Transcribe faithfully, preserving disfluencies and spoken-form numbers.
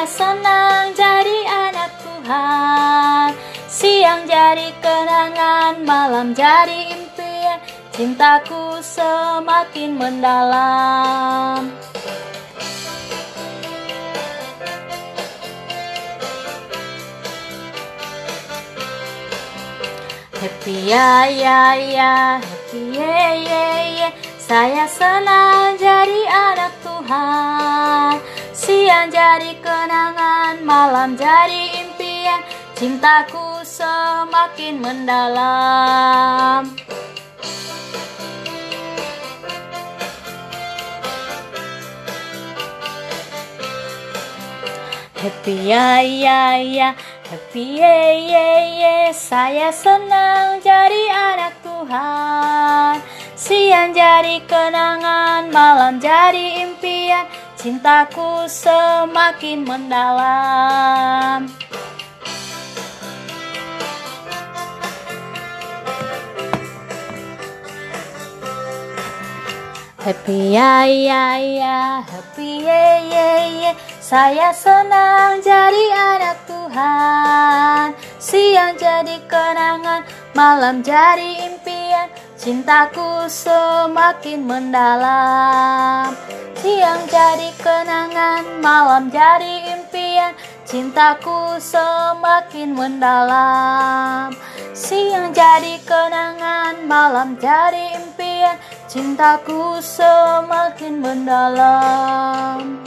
Saya senang jadi anak Tuhan. Siang jadi kenangan, malam jadi impian. Cintaku semakin mendalam. Happy ya ya ya, happy ye ye ye. Saya senang jadi anak Tuhan. Siang jadi kenangan, malam jadi impian. Cintaku semakin mendalam. Happy ya ya ya, happy ye ye ye. Saya senang jadi anak Tuhan. Siang jadi kenangan, malam jadi impian. Cintaku semakin mendalam. Happy ya ya ya, happy ye ye ye. Saya senang jadi anak Tuhan. Siang jadi kenangan, malam jadi impian. Cintaku semakin mendalam. Siang jadi kenangan, malam jadi impian. Cintaku semakin mendalam. Siang jadi kenangan, malam jadi impian. Cintaku semakin mendalam.